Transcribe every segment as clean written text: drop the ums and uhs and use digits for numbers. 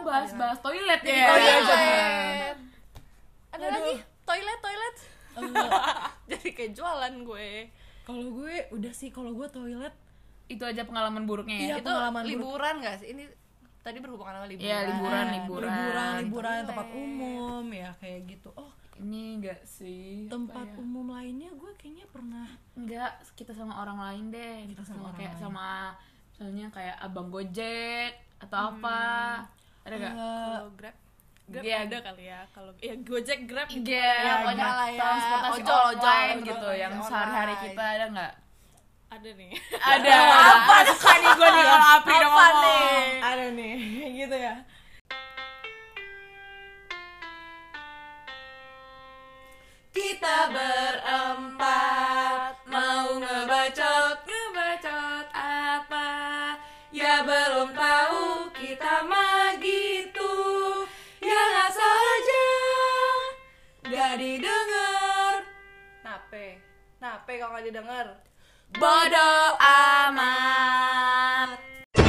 bahas toilet ya. Toilet. Ada lagi toilet. Jadi kayak jualan gue. Kalau gue udah sih, kalau gue toilet itu aja pengalaman buruknya ya. Iya, Itu pengalaman liburan nggak sih? Ini tadi berhubungan sama liburan. Iya, liburan. tempat umum ya kayak gitu. Oh, Ini enggak sih. tempat umum lainnya gue kayaknya pernah. Enggak, kita sama orang lain deh. Kita sama orang kayak lain. sama misalnya kayak abang Gojek atau apa. Ada enggak? Kalau Grab Iya. ada kali ya. Kalau ya Gojek, Grab gitu. Iya, pokoknya lah ya. transportasi Ojol online gitu yang online. sehari-hari kita ada enggak? Ada nih. Ada. Apa suka nih gue nih kalau Apri udah Apa ngomong. nih? Ada nih, gitu ya. Kita berempat mau ngebacot apa? Ya belum tahu kita mah gitu. Ya asal aja gak didengar. Nape kalau gak didengar? Bodoh amat.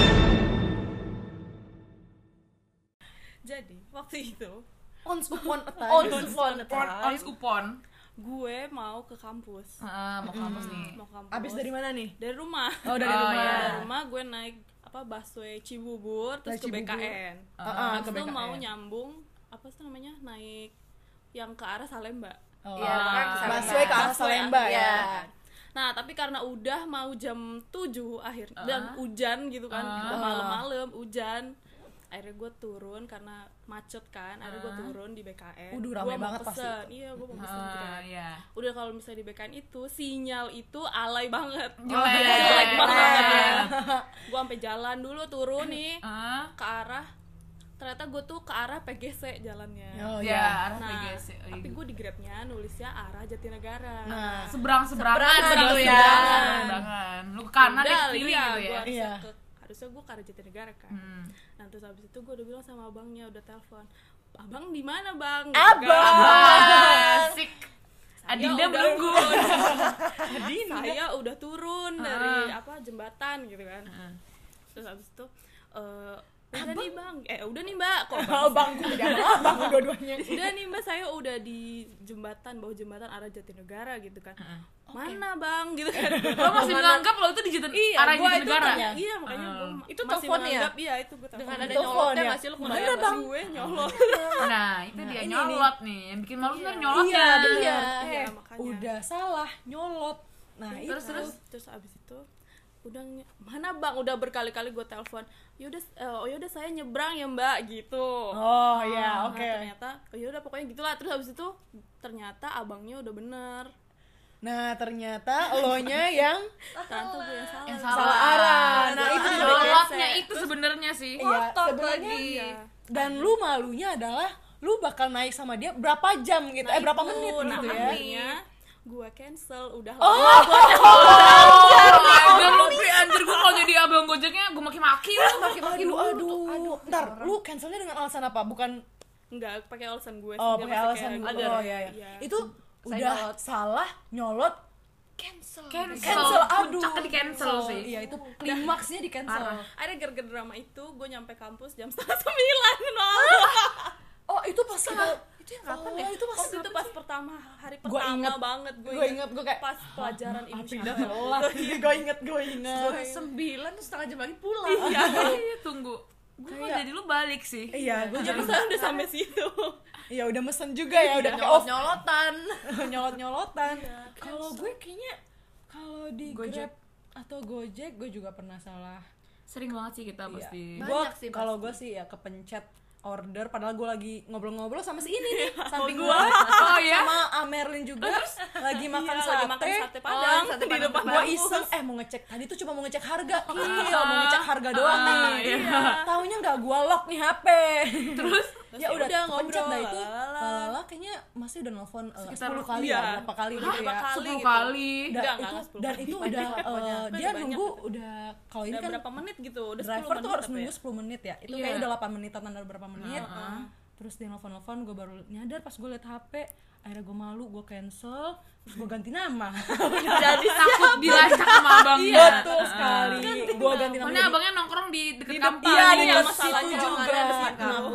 Jadi waktu itu Once upon a time. Ons upon. gue mau ke kampus. Mau kampus nih. Mau kampus. Abis dari mana nih? Dari rumah. Oh, dari Oh, rumah. iya. Dari rumah gue naik busway Cibubur terus ke Cibubur. BKN. Ke Terus tuh BKN. mau nyambung apa sih namanya? Naik yang ke arah Salemba. Oh. Iya, kan ke Salemba. Busway ke arah Salemba ya. Iya. Nah, tapi karena udah mau jam 7 akhir dan hujan gitu kan. Udah malam-malam hujan. Akhirnya gue turun karena macet kan. Akhirnya gue turun di BKN. Rame Gua mau banget pasti. pesen. Iya, gue mau pesen gitu kan. Iya. Udah kalau misalnya di BKN itu sinyal itu alay banget. Jelek banget ya. Gue sampai jalan dulu turun nih Ah, ke arah, ternyata gue tuh ke arah PGC jalannya. Oh ya, ya. arah Nah, PGC. tapi gue di Grabnya nulisnya arah Jatinegara. Nah, seberang-seberangan gitu ya. seberangan. Seberangan. Lu ke kanan dia Udah, ke kiri iya, gitu gua ya. harusnya Iya. harusnya gue ke arah Jatinegara kan. Nah terus habis itu gue udah bilang sama abangnya, udah telepon, abang di mana bang? Gitu kan. Asik. Adinda udah. menunggu. Saya udah turun dari jembatan gitu kan. Terus habis itu udah nih bang, udah nih mbak, kok abang gue udah abang dua-duanya. udah nih mbak, saya udah di jembatan, bawah jembatan arah Jatinegara gitu kan. Mana bang gitu kan. Lo masih menganggap lo itu di arah gua itu Jatinegara? tanya, iya makanya gue Itu masih teleponnya? menganggap, iya itu gue Dengan ada Telepon nyolotnya ya? nggak sih, lu Mana kebayang nggak bang? sih? gue nyolot. Nah, itu dia ini nyolot nih. Yang bikin malu sebenarnya nyolotnya. Iya, bener. Iya, makanya. Udah salah nyolot. Nah, Terus abis itu udah mana bang, udah berkali-kali gue telepon, yaudah saya nyebrang ya mbak gitu. Oh ya, Nah, oke. ternyata yaudah pokoknya gitulah. Terus abis itu ternyata abangnya udah bener. Nah, ternyata elonya yang Ternyata gue yang salah. Yang salah arah. Nah, itu Salah. juga Nyolotnya itu sebenarnya sih. Iya, Ngotot sebenarnya lagi. Iya. dan lu malunya adalah lu bakal naik sama dia berapa jam gitu, berapa itu, menit nah, gitu ya. akhirnya gue cancel, udah Oh, lu anjir, gue kalau jadi abang Gojeknya gue maki-maki lu. Maki-maki lu, aduh. Ntar, lu cancelnya dengan alasan apa? Bukan nggak pakai alasan gue oh, sendiri, pakai masih alasan kayak lu. gitu. Oh iya, iya. Iya. Itu Saya udah nyolot. salah nyolot Cancel. cancel, aduh. Puncaknya di cancel sih. Iya, itu klimaksnya di cancel. Akhirnya gara-gara drama itu gue nyampe kampus jam 8:30. Oh, itu pas kita Itu yang kapan ya? itu pas Waktu itu pas pertama, hari Gua pertama inget. banget gue inget, gue kayak pas pelajaran ilmu pindah syariat. telat. Gue inget. 9 terus setengah jam lagi pulang. Iya, tunggu. Gue kok jadi lu balik sih. Iya, gue Jadi saya udah sampai situ. Iya, udah mesen juga ya, udah pakai off Nyolot-nyolotan. nyolot-nyolotan. Kalau gue kayaknya kalau di Gojek. Grab atau Gojek gue juga pernah salah. Sering banget sih kita pasti. Banyak Gue sih kalau pasti. gue sih ya kepencet order padahal gue lagi ngobrol-ngobrol sama si ini nih samping gue Oh ya? sama Amerlin juga lagi makan Iya, sate, lagi makan sate Padang sate di Padang. depan gue kampus. iseng mau ngecek tadi tuh cuma mau ngecek harga mau ngecek harga doang nih taunya nggak gue lock nih HP terus ya udah kepencet dah itu lala kayaknya masih udah nelfon Sekitar 10 kali iya. ya berapa kali gitu ya 10 gitu. kali. Enggak, itu, 10 dan kali. itu udah dia Banyak. nunggu udah kalau ini Udah kan berapa menit gitu? Udah 10 driver menit tuh harus apa ya? nunggu 10 menit ya itu Iya. kayak udah 8 menitan ada berapa menit terus dia nelfon gue baru nyadar pas gue liat HP akhirnya gue malu gue cancel terus gue ganti nama Jadi takut dilacak sama abangnya. betul sekali gue ganti nama Soalnya abangnya nongkrong di deket kampus. iya di Iya, dekat masalahnya situ juga makanya di situ. nah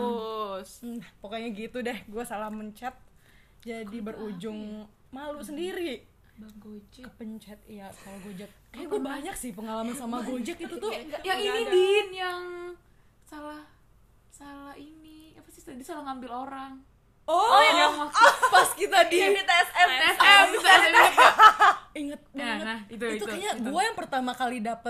Pokoknya gitu deh, gue salah mencet jadi berujung malu sendiri. Bang Gojek. Kepencet, iya kalau Gojek. Kayak gue banyak sih pengalaman sama Gojek itu tuh. Yang ini Din, yang salah ini apa sih tadi, salah ngambil orang. Yang waktu pas kita di TSM. inget banget. Nah, itu kayaknya gue yang pertama kali dapet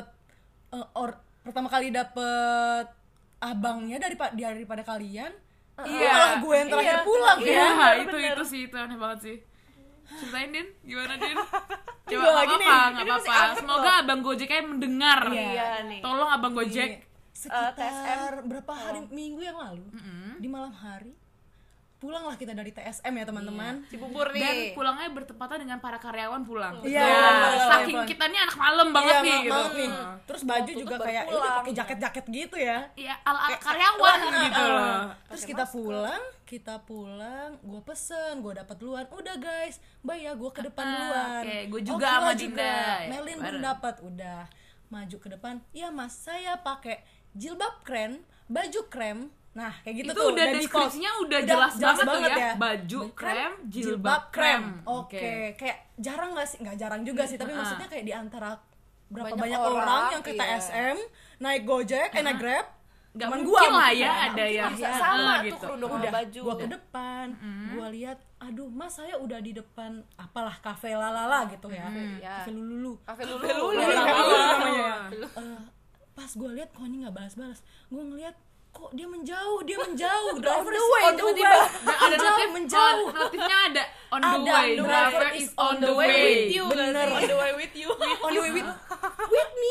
abangnya daripada kalian. Malah gue yang terakhir pulang Iya, ya. itu sih, itu aneh banget sih. Ceritain Din, gimana Din? Coba Gua lagi nih. nggak apa-apa. Semoga Abang Gojeknya mendengar. Iya nih. Tolong Abang Gojek. Sekitar TSM. berapa hari minggu yang lalu di malam hari pulanglah kita dari TSM ya teman-teman. Cibubur Dan nih. pulangnya bertepatan dengan para karyawan pulang. Iya, Ya, karyawan saking pulang. kita nih anak malam banget Iya, nih gitu. banget nih. Terus baju Waktu juga tuh kayak baru udah pulang. pakai jaket-jaket gitu ya. Iya, ala karyawan gitu loh. Terus kita pulang, gue pesen, gue dapat duluan. Udah guys, bye ya, gue ke depan duluan. Oke, gue juga Kila sama juga. Dinda. Melin belum dapat, udah maju ke depan. Iya mas, saya pakai jilbab krem, baju krem. Nah kayak gitu Itu tuh. udah default. deskripsinya udah jelas banget tuh ya. ya. Baju krem, jilbab krem. Oke, kayak jarang nggak sih? Nggak jarang juga sih, tapi maksudnya kayak di antara berapa Banyak banyak orang, orang yang ke iya. TSM naik Gojek, naik Grab. Gak Cuman mungkin gua lah mungkin ya ya. ada yang Bisa sama tuh gitu. kerudung sama Udah, baju. gua ke depan, gua lihat, aduh mas saya udah di depan apalah kafe lalala gitu ya, Iya. kafe lululu. Kafe Lulu. Namanya. Pas gua lihat kok ini nggak balas-balas, gua ngeliat kok dia menjauh, driver is on the way, Nah, ada menjauh. notifnya ada on the Ada, way, driver driver is is on the way. With you, Bener. on the way with you. On the way with me.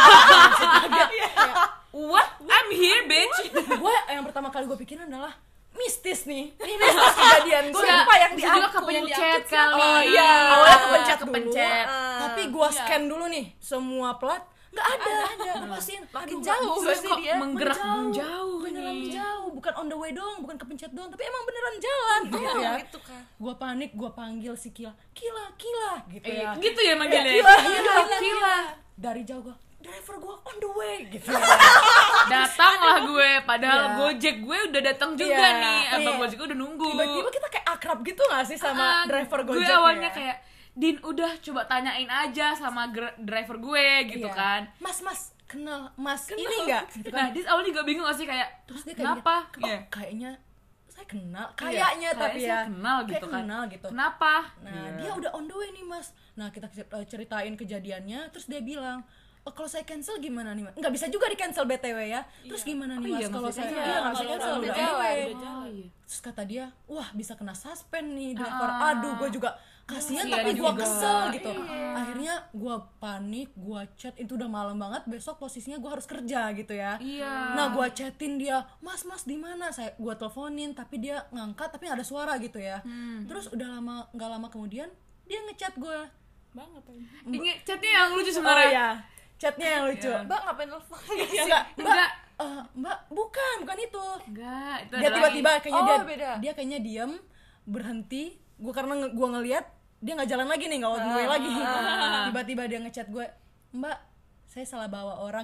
What? I'm here, bitch. Gue yang pertama kali gue pikirin adalah mistis nih. Ini mistis kejadian gue. Suka- Sumpah yang juga diangkut, kepencet kali. Oh iya, Awalnya kepencet kepencet. Tapi gue scan dulu nih semua plat, nggak ada. Gue pastiin Makin aduh, jauh nggak gak bisa. sih Kok dia? menggerak menjauh Beneran nih. menjauh, bukan on the way doang, bukan kepencet doang, tapi emang beneran jalan gitu ya. Gitu kan. Gue panik, gue panggil si Kila gitu ya. Gitu ya manggilnya. Kila. Dari jauh gue, driver gue on the way gitu. Datanglah gue, padahal Iya. Gojek gue udah datang juga Iya, nih. Abang iya. Gojek gue udah nunggu. Tiba-tiba kita kayak akrab gitu gak sih sama driver Gojek? Gue awalnya kayak, Din udah coba tanyain aja sama driver gue gitu Iya. kan. Mas kenal mas ini nggak gitu Nah, kan. dia awalnya juga bingung gak sih kayak, Terus dia kayak kenapa? gini, Iya. kayaknya saya kenal Iya, kayaknya tapi kayaknya ya saya kenal gitu kayak kan. kenal gitu. Kenapa? Nah Iya. dia udah on the way nih mas. Nah kita ceritain kejadiannya, terus dia bilang, oh, kalau saya cancel gimana nih mas? Nggak bisa juga di cancel BTW ya. Terus gimana nih mas iya, kalau maksudnya saya iya, nggak bisa kalau cancel udah udah on the jalan, way. Oh, iya. Terus kata dia, wah bisa kena suspend nih driver. Aduh gue juga kasihan Kasihan tapi gue juga. kesel gitu. Akhirnya gue panik, gue chat, itu udah malam banget, besok posisinya gue harus kerja gitu ya. Iya. Nah gue chatin dia, mas di mana? Gue teleponin tapi dia ngangkat tapi nggak ada suara gitu ya. Terus udah nggak lama kemudian dia ngechat gue. Ini chatnya yang lucu Oh sebenarnya. ya, chatnya yang lucu. Mbak ngapain telepon? Enggak, Enggak. mbak bukan itu. Enggak, itu Dia adalah tiba-tiba kayaknya Oh, beda. dia kayaknya diem, berhenti. Gue karena gue ngelihat dia nggak jalan lagi nih, nggak on the way lagi. Tiba-tiba dia ngechat gue, mbak saya salah bawa orang.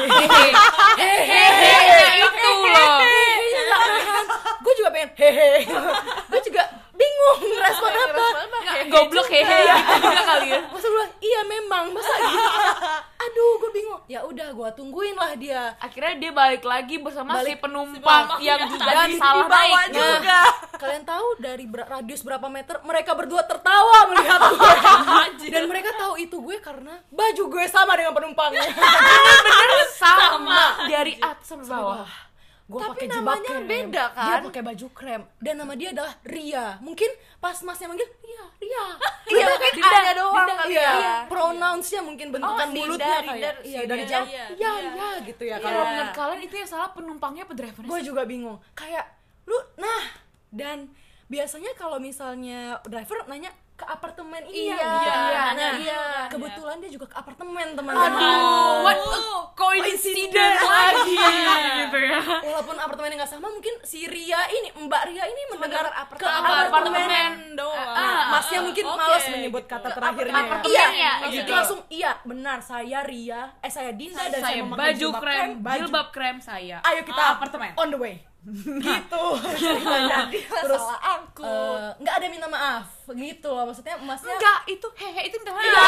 hehehe itu loh. Gue juga pengen hehe. Gue juga bingung respon apa. Enggak, goblok hehe gitu juga kali ya. Masa gue iya memang masa gitu. Aduh gue bingung. Ya udah gue tungguin lah dia. Akhirnya dia balik lagi bersama si Balik. penumpang yang juga Dan salah dibawa naik. juga. Kalian tahu dari radius berapa meter mereka berdua tertawa melihat gue. Dan mereka tahu itu gue karena baju gue sama dengan penumpangnya. Bener sama dari atas sampai bawah. Gue Tapi pakai jilbab namanya krem. beda, kan? Dia pakai baju krem dan nama dia adalah Ria. Mungkin pas masnya manggil Ria. Iya, mungkin ada doang kali Iya, ya. pronounce-nya mungkin bentukan Dinda, mulutnya Dinda, kayak iya dari Dinda, jauh. iya, Iya, iya. iya gitu ya. Kalau menurut kalian itu yang salah penumpangnya apa drivernya Gue sih? juga bingung. Kayak lu dan biasanya kalau misalnya driver nanya ke apartemen ini Iya, gitu. iya, Nah, iya. kebetulan dia juga ke apartemen teman-teman. Aduh, what a coincidence lagi gitu ya. Walaupun apartemennya nggak sama, mungkin si Ria ini, Mbak Ria ini mendengar ke apartemen apartemen. doang. Masnya mungkin Oke. males menyebut kata terakhirnya. apartemen Iya, ya, jadi gitu. langsung iya, benar saya Ria, saya Dinda dan saya Saya memakai baju krem, baju. jilbab krem saya. Ayo kita apartemen. on the way. gitu. Jadi Terus salah angkut. nggak ada minta maaf gitu loh, maksudnya masnya Enggak, itu hehe itu minta maaf.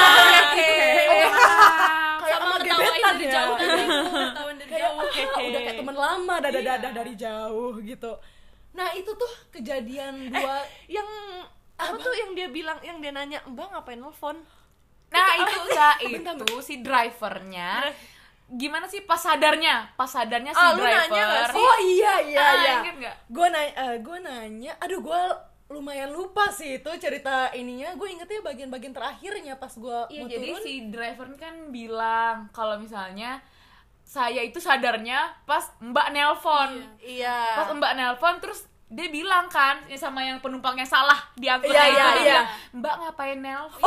kayak sama ketawain gebetan dari ya. jauh ketawain dari Kayak jauh udah kayak teman lama dadah dari jauh gitu. Nah itu tuh kejadian dua Yang apa tuh yang dia bilang, yang dia nanya, "Mbak ngapain nelfon?" Nah, itu enggak itu si drivernya. Gimana sih pas sadarnya si Ah, lu driver. nanya nggak sih? oh iya. Ingat nggak? Gue nanya, aduh gue lumayan lupa sih itu cerita ininya. Gue ingetnya bagian-bagian terakhirnya pas gue Iya, mau jadi turun. si driver kan bilang kalau misalnya saya itu sadarnya pas Mbak nelpon. Iya. Pas Mbak nelpon terus dia bilang kan sama yang penumpangnya salah diangkutnya Iya, itu iya, dia iya. bilang, Mbak ngapain nelpon?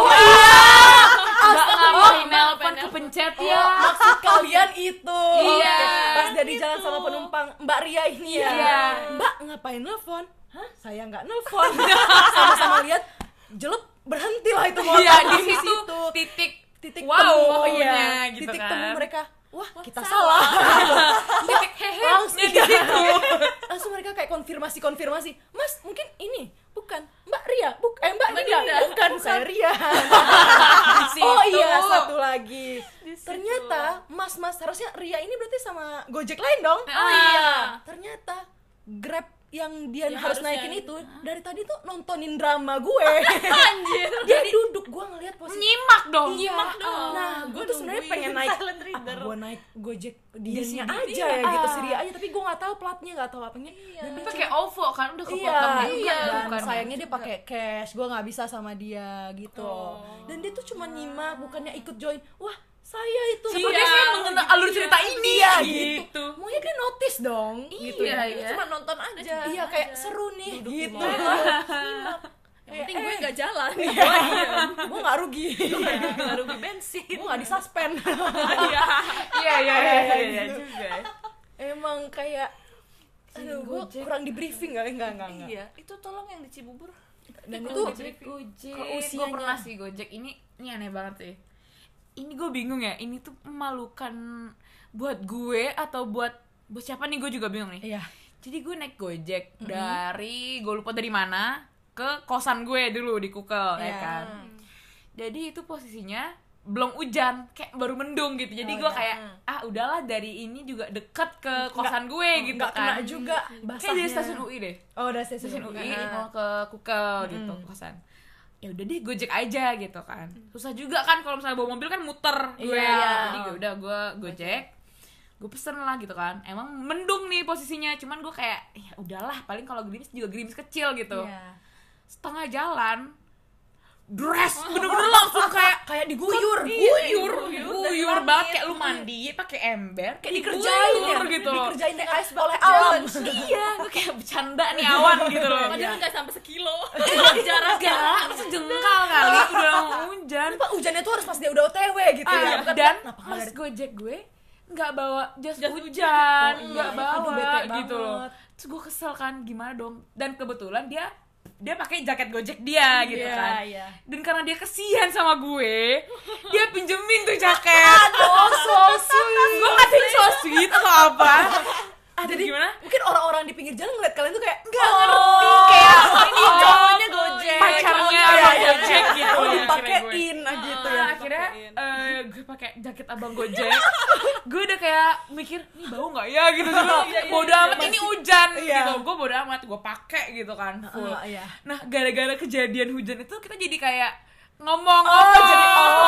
Mbak ngapain nelpon kepencet ya? Maksud kalian itu. Iya. Pas dia di jalan sama penumpang Mbak Ria ini ya. Iya. Mbak ngapain nelfon? Hah? Saya nggak nelfon. Sama-sama lihat jelek, berhentilah itu motor. Iya, di Di situ titik wow, temu pokoknya gitu titik kan. temu mereka. Wah, kita salah. Titik hehe Langsung di situ. Langsung mereka kayak konfirmasi. Mas, mungkin ini bukan Mbak Ria, Mbak Ria, bukan saya Ria. situ. Oh iya, satu lagi. Ternyata mas harusnya Ria ini berarti sama Gojek lain dong. Oh iya. Ternyata Grab yang dia Ya, harus harusnya. naikin itu dari tadi tuh nontonin drama gue. anjir Dia duduk, gue ngeliat posisi. Nyimak dong. Iya. dong. Nah, gue tuh sebenarnya pengen naik. silent reader. Gue naik Gojek Di dianya sini, aja iya. ya gitu, si Ria aja, tapi gue nggak tahu platnya, nggak tahu apanya. Dan dia Pakai OVO kan udah kepotong iya, juga iya. bukan. Dan sayangnya dia pakai cash, gue nggak bisa sama dia gitu. Dan dia tuh cuma nyimak, bukannya ikut join. Wah, saya itu. Sepertinya saya mengenal alur cerita ini Iya, gitu. Maunya dia notice dong, gitu Iya, ya. iya. Cuma nonton aja. Iya, kayak seru nih, gitu. yang penting gue nggak jalan Gue nggak rugi, Nggak rugi bensin. gue nggak disuspend. Iya juga. Emang kayak, aduh, gue Gojek. kurang di briefing nggak. Iya, itu tolong yang di Cibubur. Dan itu Gojek. kalau Gue usianya- pernah sih Gojek ini aneh banget sih. Ini gue bingung ya, ini tuh memalukan buat gue atau buat siapa nih, gue juga bingung nih. Iya. Jadi gue naik Gojek dari, gue lupa dari mana, ke kosan gue dulu di Kukel, ya Iya. kan. Jadi itu posisinya belum hujan, kayak baru mendung gitu. Jadi Oh, gue iya. kayak, udahlah dari ini juga deket ke kosan gue gitu nggak kena kan. juga Kayak basahnya. dari stasiun UI deh. Oh, udah Stasiun UI Iya. mau ke Kukel gitu, kosan. Ya udah deh Gojek aja gitu kan. Susah juga kan kalau misalnya bawa mobil kan muter gue. Iya. Jadi udah gue Gojek. Gue pesen lah gitu kan. Emang mendung nih posisinya, cuman gue kayak ya udahlah, paling kalau gerimis juga gerimis kecil gitu. Iya. Setengah jalan bener-bener langsung kayak diguyur. guyur banget, kayak lu mandi pakai ember kayak Dikerjain diguyur ya, gitu. dikerjain oleh alam. Iya, gue kayak bercanda nih awan gitu loh. padahal nggak sampai sekilo Jaraknya sejengkal kali udah mau hujan. Kenapa hujannya tuh harus pas dia udah OTW gitu ya? Bukan Dan kenapa nggak pas dari- Gojek gue nggak bawa jas hujan, nggak Aduh, bawa bete gitu loh. banget. Terus gue kesel kan, gimana dong? Dan kebetulan dia pakai jaket Gojek dia gitu Iya, kan. iya. Dan karena dia kesian sama gue, dia pinjemin tuh jaket. Oh, so sweet. Gue ngatain so sweet atau apa? Jadi gimana? Mungkin orang-orang di pinggir jalan ngeliat kalian tuh kayak Nggak ngerti kayak ini cowoknya Gojek. pacarnya iya, iya, Gojek gitu. oh, akhirnya gue. dipakein gitu ya. Akhirnya gue pakai jaket abang Gojek. Gue udah kayak mikir nih bau nggak ya gitu. Bodo amat ini hujan Iya. gitu. Gue bodo amat, gue pakai gitu kan full. Iya. Nah gara-gara kejadian hujan itu kita jadi kayak ngomong-ngomong, jadi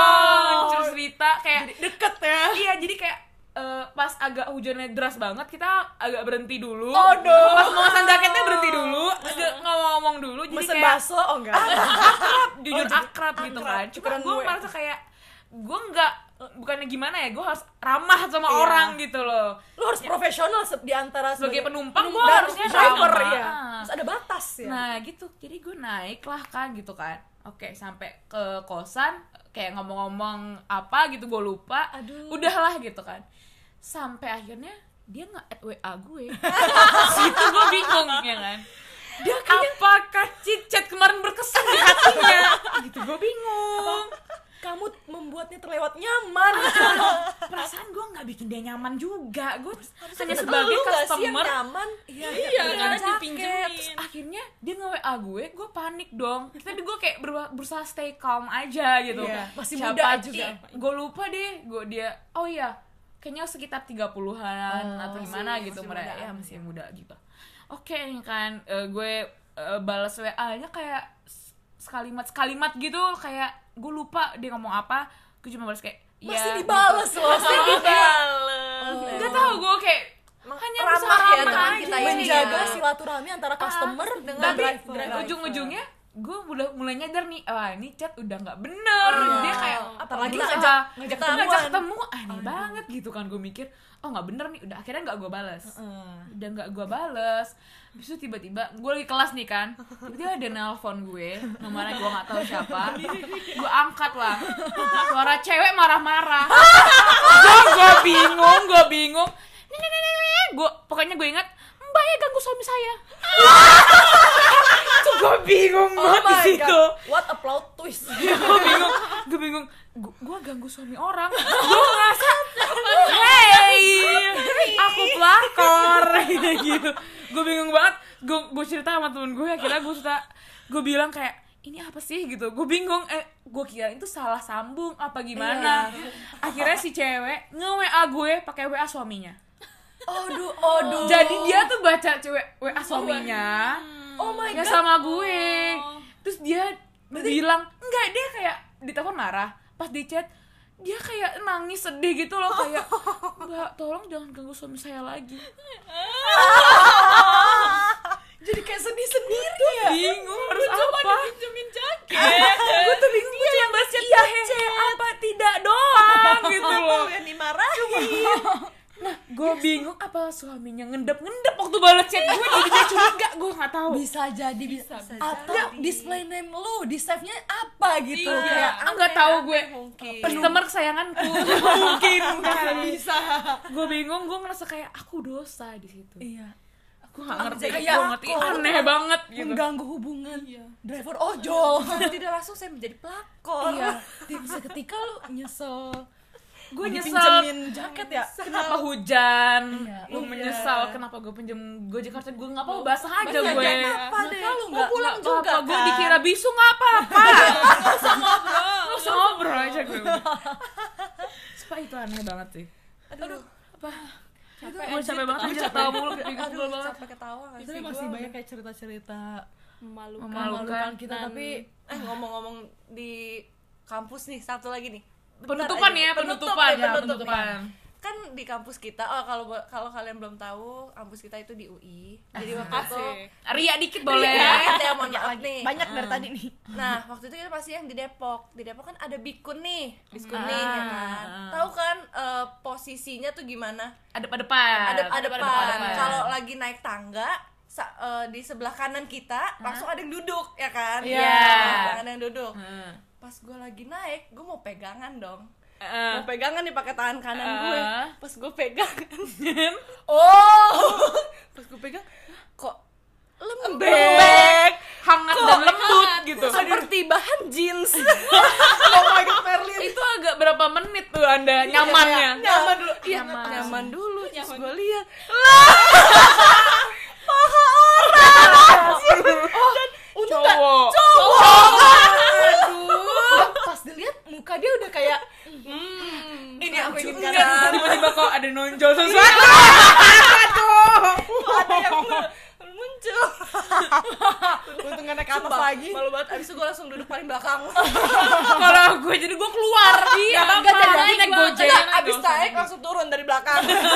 cerita kayak Deket ya. iya, jadi kayak pas agak hujannya deras banget, kita agak berhenti dulu. Aduh. Pas mau pesan jaketnya berhenti dulu, agak ngomong dulu. Jadi Mesen kayak bakso, oh enggak. jujur akrab gitu kan. Cuma Tukeran gue gue. merasa kayak gue nggak, bukannya gimana ya, gue harus ramah sama orang gitu loh. Lu harus profesional di antara Sebagai penumpang gue dan harusnya driver ramah. ya. Terus ada batas ya. Nah gitu, jadi gue naik lah kan gitu kan. Oke, sampai ke kosan kayak ngomong-ngomong apa gitu, gue lupa. Aduh. Udahlah gitu kan. Sampai akhirnya dia nge-add WA gue. Situ gue bingung ya kan. Dia apakah chat kemarin berkesan di hatinya? Gitu gue bingung. kamu membuatnya terlewat nyaman. Perasaan gue nggak bikin dia nyaman juga, gue hanya Lu sebagai nggak sih yang customer. nyaman? Iya, Dengan karena jaket. dipinjemin. Terus akhirnya dia nge-WA gue panik dong. Tapi gue kayak berusaha stay calm aja gitu. Iya, masih Siapa muda juga. Gue lupa deh, oh iya, kayaknya sekitar 30-an atau gimana gitu mereka. Ya masih muda gitu. Oke nih kan, gue balas WA-nya kayak sekalimat gitu, kayak gue lupa dia ngomong apa. Gue cuma balas kayak Masih dibales loh. Masih Gak tau, gue kayak hanya ramah berusaha ya ramah teman aja. kita ini Menjaga ya. silaturahmi antara customer dengan Tapi driver. ujung-ujungnya gue mulai nyadar nih, wah ini chat udah nggak bener. Dia kayak apalagi berusaha ngajak ketemu, aneh banget gitu kan. Gue mikir, oh nggak bener nih, udah akhirnya nggak gue balas. Udah nggak gue balas. Habis itu tiba-tiba gue lagi kelas nih kan, tiba-tiba ada nelpon gue, nomornya gue nggak tahu siapa. Gue angkat lah, suara cewek marah-marah. Gue bingung. Pokoknya gue ingat, Mbak ya ganggu suami saya. Tuh gue bingung banget di situ. What a plot twist. Gue bingung. Gue ganggu suami orang. Gue ngerasa, hey, aku pelakor gitu. Gue bingung banget. Gue cerita sama temen gue. Akhirnya gue bilang kayak, ini apa sih gitu. Gue bingung. Gue kira itu salah sambung apa gimana. Akhirnya si cewek nge-WA gue pakai WA suaminya. Aduh. Jadi dia tuh baca cewek WA suaminya. Oh my Nggak god. sama gue. Terus dia bilang, enggak, dia kayak di telepon marah. Pas di chat, dia kayak nangis sedih gitu loh, kayak, Mbak tolong jangan ganggu suami saya lagi. Jadi kayak sedih sendiri ya. Bingung harus apa. Pinjemin jaket. Gue tuh bingung, gue cuma baca iya apa tidak doang gitu loh. Yang dimarahin. Nah, gue bingung apa suaminya ngendep waktu balas chat gue, jadi dia curiga, gue nggak tahu. Bisa jadi. Atau display name lu, di save-nya apa gitu. Kayak Kayak nggak tahu gue Mungkin. customer kesayanganku. Mungkin bisa. Gue bingung, gue ngerasa kayak aku dosa di situ. iya. Gue nggak ngerti, Kayak gue ngerti aneh banget gitu. Mengganggu hubungan driver ojol. Tidak langsung saya menjadi pelakor. Iya. Seketika lu nyesel. Gue nyesel Pinjemin jaket ya. kenapa hujan. Iya. Lu menyesal kenapa gue pinjem Gojek harusnya gue nggak apa-apa, basah aja gue. Apa deh? Lu Mau pulang juga kan? gue dikira bisu nggak apa-apa. Nggak usah ngobrol aja gue. Supaya itu aneh banget sih. Aduh. Apa? Capek banget aja ketawa mulu, pegel banget. Sampai ketawa nggak Tapi sih masih gua? banyak kayak cerita-cerita Memalukan. memalukan kita, Dan- tapi Ngomong-ngomong di kampus nih, satu lagi nih. Penutupan ya, penutupan. Kan di kampus kita, kalau kalian belum tahu, kampus kita itu di UI. Jadi waktu itu Ria dikit boleh. ya mohon maaf nih. banyak dari tadi nih. Nah, waktu itu kita pasti yang di Depok. Di Depok kan ada Bikun nih, Biskunin ya kan. Tahu kan posisinya tuh gimana? Adep-adepan. Adep-adepan. Kalau lagi naik tangga, di sebelah kanan kita langsung ada yang duduk ya kan? Iya. Ada yang duduk. Pas gue lagi naik, gue mau pegangan dong. Mau pegangan nih pakai tangan kanan gue. Pas gue pegangan, pas gue pegang, kok lembek, hangat dan lembut gitu. seperti bahan jeans. Oh my god, Merlin. Itu agak berapa menit tuh Anda nyamannya? Nyaman dulu, iya Nyaman. nyaman dulu. Terus gue lihat, Cowok. Pas dilihat muka dia udah kayak ini aku ingin Enggak, katakan. tiba-tiba kok ada nonjol sesuatu. Ada yang muncul. untung gak naik ke atas lagi. Malu banget. Abis itu gue langsung duduk paling belakang. Kalau gue jadi gue keluar. Iya, Enggak jadi naik naik Gojek. Abis naik langsung turun dari belakang.